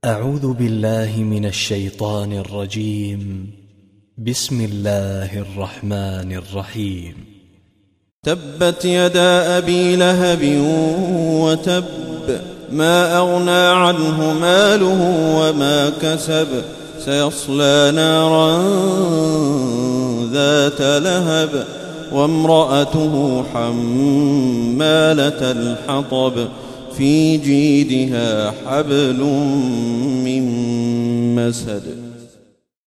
أعوذ بالله من الشيطان الرجيم. بسم الله الرحمن الرحيم. تبت يدا أبي لهب وتب، ما أغنى عنه ماله وما كسب، سيصلى نارا ذات لهب وامرأته حمالة الحطب في جيدها حبل من مسد.